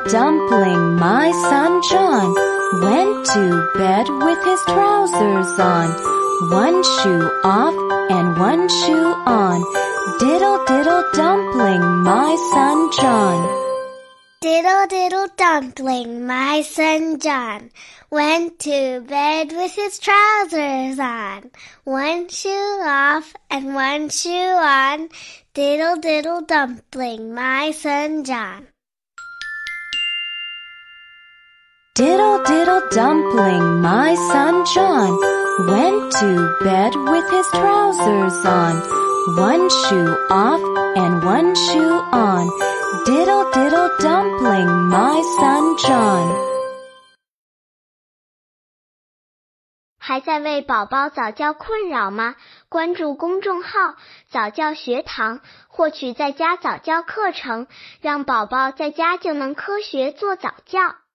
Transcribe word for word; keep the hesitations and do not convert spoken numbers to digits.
dumpling, my son John went to bed with his trousers on, one shoe off and one shoe on. Diddle diddle dumpling, my son John. Diddle diddle dumpling, my son John went to bed with his trousers on, one shoe off and one shoe on. Diddle diddle dumpling, my son John. Diddle diddle dumpling, my son John went to bed with his trousers on, one shoe off and one shoe on. Diddle diddle dumpling, my son John. 还在为宝宝早教困扰吗？关注公众号早教学堂，获取在家早教课程，让宝宝在家就能科学做早教。